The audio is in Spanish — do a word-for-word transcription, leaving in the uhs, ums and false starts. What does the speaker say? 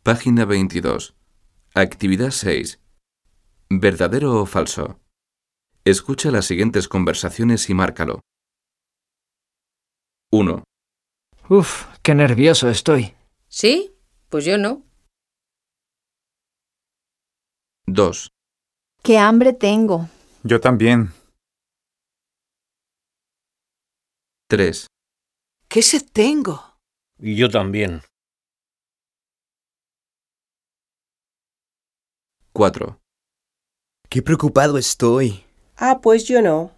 Página veintidós. Actividad seis. ¿Verdadero o falso? Escucha las siguientes conversaciones y márcalo. uno. Uf, qué nervioso estoy. ¿Sí? Pues yo no. dos. ¡Qué hambre tengo! Yo también. tres. ¿Qué sed tengo? Y yo también. cuatro. Qué preocupado estoy. Ah, pues yo no.